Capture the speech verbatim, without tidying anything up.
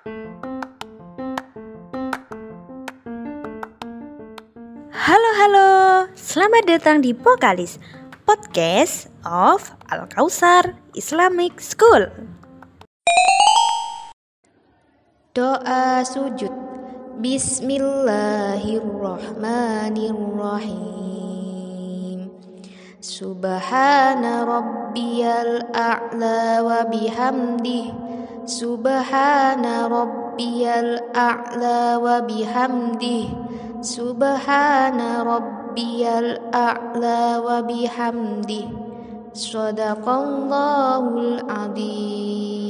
Halo halo, selamat datang di Pokalis, podcast of Al-Kausar Islamic School. Doa sujud. Bismillahirrahmanirrahim. Subhana rabbiyal a'la wa bihamdih. Subhana rabbiyal a'la wa bihamdih. Subhana rabbiyal a'la wa bihamdih. Shadaqallahul adzim.